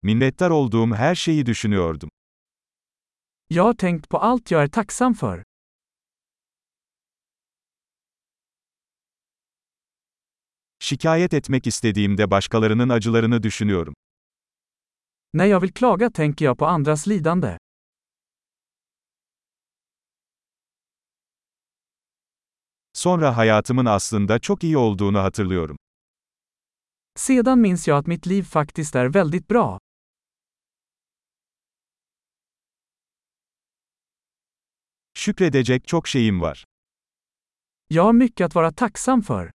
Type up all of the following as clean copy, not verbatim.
Minnettar olduğum her şeyi düşünüyordum. Jag har tänkt på allt jag är tacksam för. Şikayet etmek istediğimde başkalarının acılarını düşünüyorum. När jag vill klaga tänker jag på andras lidande. Sonra hayatımın aslında çok iyi olduğunu hatırlıyorum. Sedan minns jag att mitt liv faktiskt är väldigt bra. Şükredecek çok şeyim var. Jag har mycket att vara tacksam för.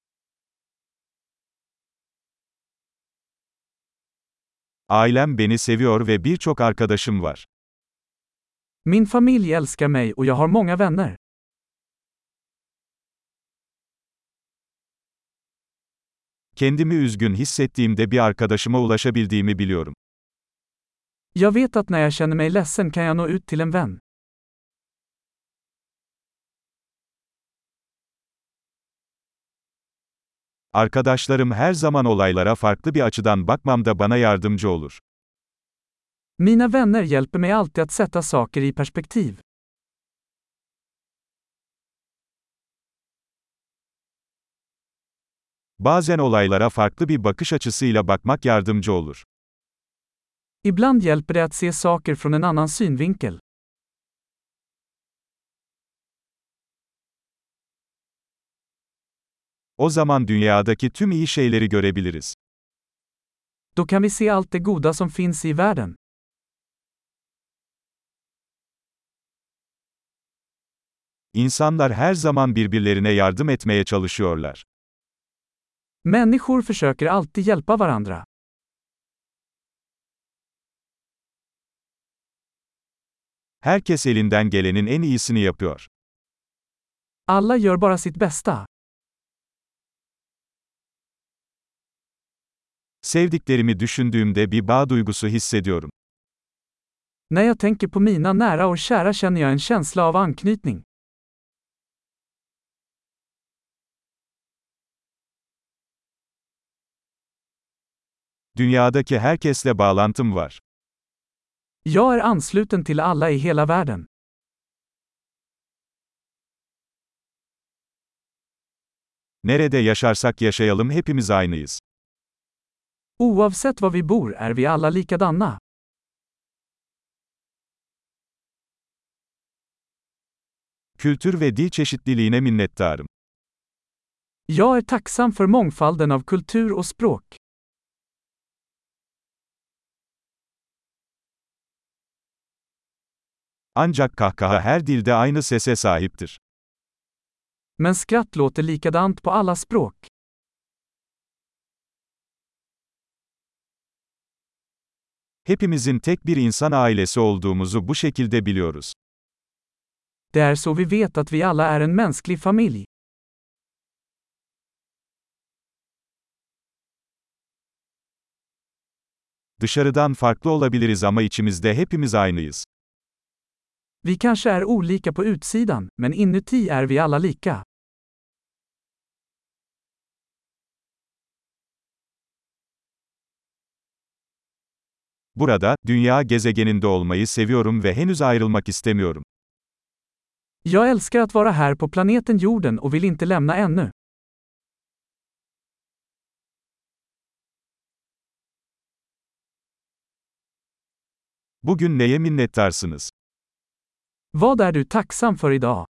Ailem beni seviyor ve birçok arkadaşım var. Min familj älskar mig och jag har många vänner. Kendimi üzgün hissettiğimde bir arkadaşıma ulaşabildiğimi biliyorum. Jag vet att när jag känner mig ledsen kan jag nå ut till en vän. Arkadaşlarım her zaman olaylara farklı bir açıdan bakmamda bana yardımcı olur. Mina vänner hjälper mig alltid att sätta saker i perspektiv. Bazen olaylara farklı bir bakış açısıyla bakmak yardımcı olur. Ibland hjälper det att se saker från en annan synvinkel. O zaman dünyadaki tüm iyi şeyleri görebiliriz. Då kan vi se allt det goda som finns i världen. İnsanlar her zaman birbirlerine yardım etmeye çalışıyorlar. Människor försöker alltid hjälpa varandra. Herkes elinden gelenin en iyisini yapıyor. Alla gör bara sitt bästa. Sevdiklerimi düşündüğümde bir bağ duygusu hissediyorum. När jag tänker på mina nära och kära känner jag en känsla av anknytning. Dünyadaki herkesle bağlantım var. Jag är ansluten till alla i hela världen. Nerede yaşarsak yaşayalım hepimiz aynıyız. Oavsett var vi bor är vi alla likadana. Kültür ve dil çeşitliliğine minnettarım. Jag är tacksam för mångfalden av kultur och språk. Ancak kahkaha her dilde aynı sese sahiptir. Men skratt låter likadant på alla språk. Hepimizin tek bir insan ailesi olduğumuzu bu şekilde biliyoruz. Det är så vi vet att vi alla är en mänsklig familj. Dışarıdan farklı olabiliriz ama içimizde hepimiz aynıyız. Vi kanske är olika på utsidan, men inuti är vi alla lika. Burada, dünya gezegeninde olmayı seviyorum ve henüz ayrılmak istemiyorum. Jag älskar att vara här på planeten jorden och vill inte lämna ännu. Bugün neye minnettarsınız? Vad är du tacksam för idag?